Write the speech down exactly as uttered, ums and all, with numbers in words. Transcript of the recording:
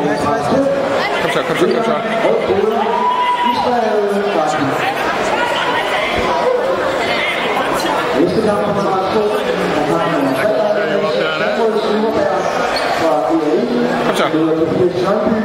Kom så, kom så, kom så. Næste kamp kommer fra to. Kom så.